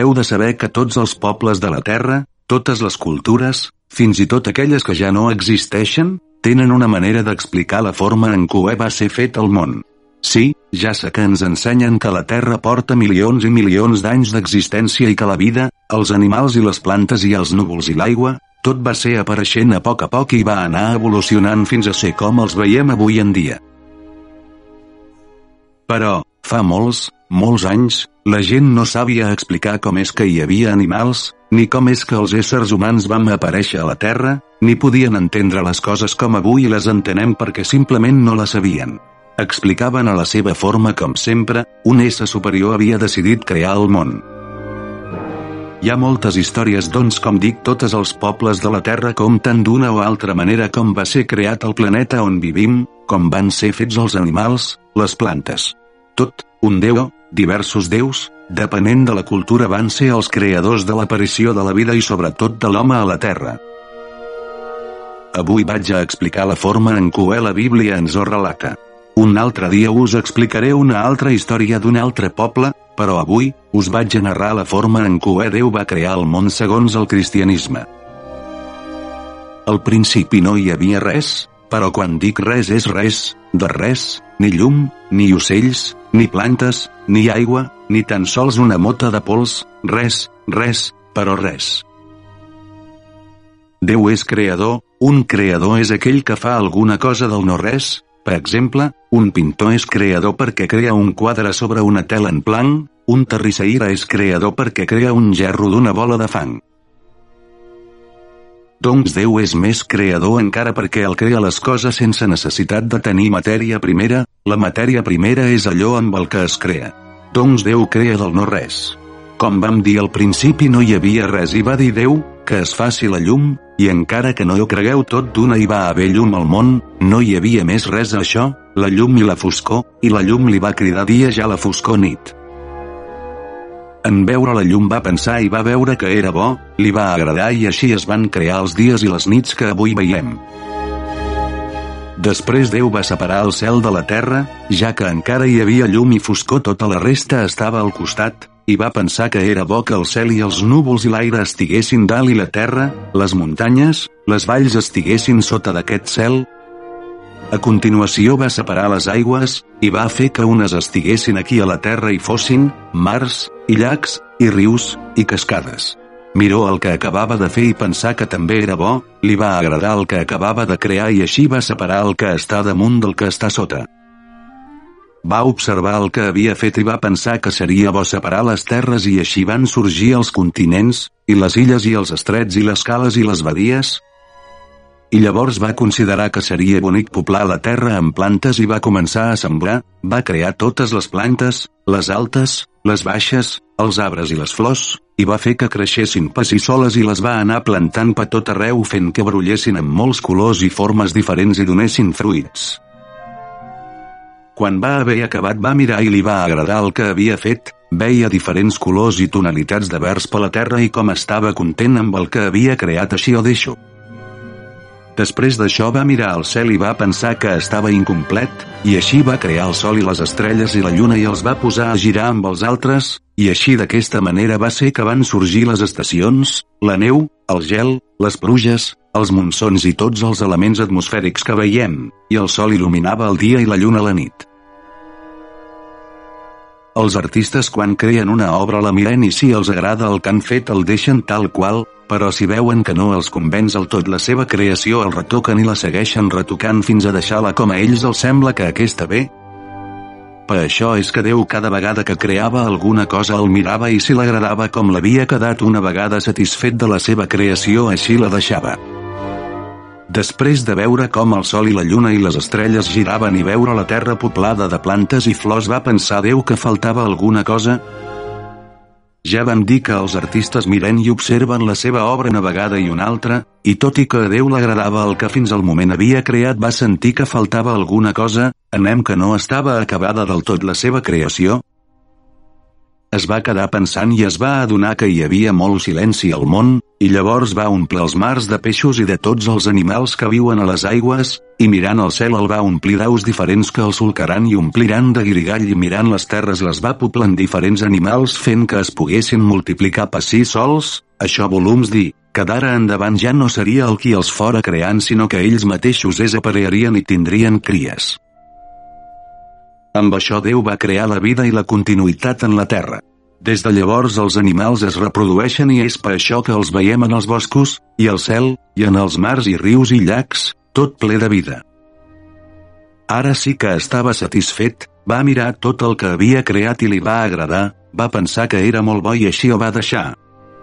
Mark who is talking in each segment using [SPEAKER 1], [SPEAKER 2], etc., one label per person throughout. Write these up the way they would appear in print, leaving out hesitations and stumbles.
[SPEAKER 1] heu de saber que tots els pobles de la Terra, totes les cultures, fins i tot aquelles que ja no existeixen, tenen una manera d'explicar la forma en què va ser fet el món. Sí, ja sé que ens ensenyen que la Terra porta milions i milions d'anys d'existència i que la vida, els animals i les plantes i els núvols i l'aigua, tot va ser apareixent a poc i va anar evolucionant fins a ser com els veiem avui en dia. Però, fa molts anys, la gent no sabia explicar com és que hi havia animals, ni com és que els éssers humans vam aparèixer a la Terra, ni podien entendre les coses com avui les entenem perquè simplement no les sabien. Explicaven a la seva forma com sempre, un ésser superior havia decidit crear el món. Hi ha moltes històries com dic totes els pobles de la Terra compten d'una o altra manera com va ser creat el planeta on vivim, com van ser fets els animals, les plantes. Tot, un déu, diversos déus, depenent de la cultura van ser els creadors de l'aparició de la vida i sobretot de l'home a la Terra. Avui vaig a explicar la forma en què la Bíblia ens ho relata. Un altre dia us explicaré una altra història d'un altre poble, però avui, us vaig a narrar la forma en què Déu va crear el món segons el cristianisme. Al principi no hi havia res, però quan dic res és res, de res, ni llum, ni ocells, ni plantes, ni aigua, ni tan sols una mota de pols, res, però res. Déu és creador, un creador és aquell que fa alguna cosa del no-res. Per exemple, un pintor és creador perquè crea un quadre sobre una tela en blanc, un terrisseire és creador perquè crea un gerro d'una bola de fang. Doncs Déu és més creador encara perquè el crea les coses sense necessitat de tenir matèria primera, la matèria primera és allò amb el que es crea. Doncs Déu crea del no-res. Com vam dir al principi no hi havia res i va dir Déu, que es faci la llum, i encara que no ho cregueu tot d'una hi va haver llum al món, no hi havia més res a això, la llum i la foscor, i la llum li va cridar dia ja la foscor nit. En veure la llum va pensar i va veure que era bo, li va agradar i així es van crear els dies i les nits que avui veiem. Després Déu va separar el cel de la terra, ja que encara hi havia llum i foscor tota la resta estava al costat, i va pensar que era bo que el cel i els núvols i l'aire estiguessin dalt i la terra, les muntanyes, les valls estiguessin sota d'aquest cel. A continuació va separar les aigües, i va fer que unes estiguessin aquí a la terra i fossin mars, i llacs, i rius, i cascades. Miró el que acabava de fer i pensar que també era bo, li va agradar el que acabava de crear i així va separar el que està damunt del que està sota. Va observar el que havia fet i va pensar que seria bo separar les terres i així van sorgir els continents, i les illes i els estrets i les cales i les badies. I llavors va considerar que seria bonic poblar la terra amb plantes i va començar a sembrar, va crear totes les plantes, les altes, les baixes, els arbres i les flors, i va fer que creixessin per si soles i les va anar plantant per tot arreu fent que brollessin amb molts colors i formes diferents i donessin fruits. Quan va haver acabat va mirar i li va agradar el que havia fet, veia diferents colors i tonalitats de vers per la terra i com estava content amb el que havia creat així ho deixo. Després d'això va mirar al cel i va pensar que estava incomplet, i així va crear el sol i les estrelles i la lluna i els va posar a girar amb els altres, i així d'aquesta manera va ser que van sorgir les estacions, la neu, el gel, les pluges, els monsons i tots els elements atmosfèrics que veiem, i el sol il·luminava el dia i la lluna la nit. Els artistes quan creen una obra la miren i si els agrada el que han fet el deixen tal qual, però si veuen que no els convenç el tot la seva creació el retoquen i la segueixen retocant fins a deixar-la com a ells els sembla que aquesta ve. Per això és que Déu cada vegada que creava alguna cosa el mirava i si l'agradava com l'havia quedat una vegada satisfet de la seva creació així la deixava. Després de veure com el sol i la lluna i les estrelles giraven i veure la terra poblada de plantes i flors va pensar Déu que faltava alguna cosa. Ja vam dir que els artistes miren i observen la seva obra una vegada i una altra, i tot i que a Déu l'agradava el que fins al moment havia creat va sentir que faltava alguna cosa, que no estava acabada del tot la seva creació. Es va quedar pensant i es va adonar que hi havia molt silenci al món, i llavors va omplir els mars de peixos i de tots els animals que viuen a les aigües, i mirant el cel el va omplir d'aus diferents que el solcaran i ompliran de guirigall i mirant les terres les va poblar amb diferents animals fent que es poguessin multiplicar per si sols. Això volums dir, que d'ara endavant ja no seria el qui els fora creant sinó que ells mateixos es aparearien i tindrien cries. Amb això Déu va crear la vida i la continuïtat en la terra. Des de llavors els animals es reprodueixen i és per això que els veiem en els boscos, i al cel, i en els mars i rius i llacs, tot ple de vida. Ara sí que estava satisfet, va mirar tot el que havia creat i li va agradar, va pensar que era molt bo i així ho va deixar.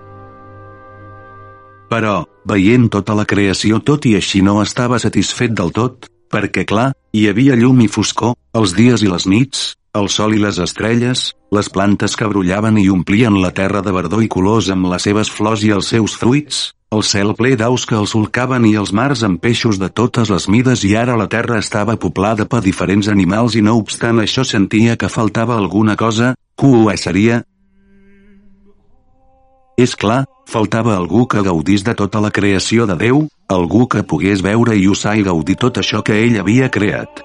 [SPEAKER 1] Però, veient tota la creació tot i així no estava satisfet del tot, perquè clar, hi havia llum i foscor, els dies i les nits, el sol i les estrelles, les plantes que brollaven i omplien la terra de verdor i colors amb les seves flors i els seus fruits, el cel ple d'aus que el solcaven i els mars amb peixos de totes les mides i ara la terra estava poblada per diferents animals i no obstant això sentia que faltava alguna cosa, que ho seria? És clar, faltava algú que gaudís de tota la creació de Déu, algú que pogués veure i usar i gaudir tot això que ell havia creat.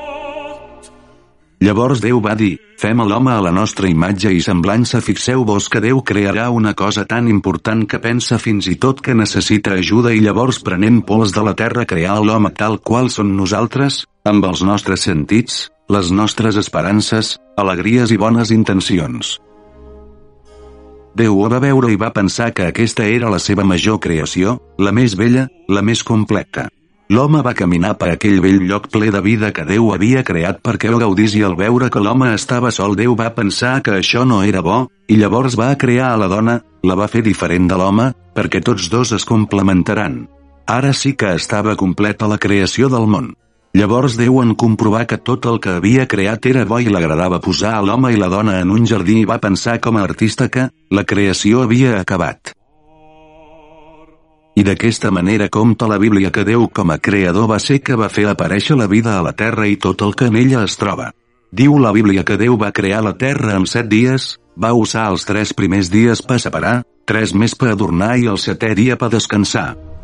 [SPEAKER 1] Llavors Déu va dir, fem a l'home a la nostra imatge i semblança. Fixeu-vos que Déu crearà una cosa tan important que pensa fins i tot que necessita ajuda i llavors prenent pols de la terra crear l'home tal qual som nosaltres, amb els nostres sentits, les nostres esperances, alegries i bones intencions. Déu ho va veure i va pensar que aquesta era la seva major creació, la més bella, la més completa. L'home va caminar per aquell vell lloc ple de vida que Déu havia creat perquè ho gaudís i al veure que l'home estava sol Déu va pensar que això no era bo, i llavors va crear a la dona, la va fer diferent de l'home, perquè tots dos es complementaran. Ara sí que estava completa la creació del món. Llavors Déu en comprovar que tot el que havia creat era bo i l'agradava posar a l'home i la dona en un jardí i va pensar com a artista que la creació havia acabat. I d'aquesta manera compta la Bíblia que Déu com a creador va ser que va fer aparèixer la vida a la terra i tot el que en ella es troba. Diu la Bíblia que Déu va crear la terra en 7 dies, va usar els 3 primers dies per separar, 3 més per adornar i el 7è dia per descansar.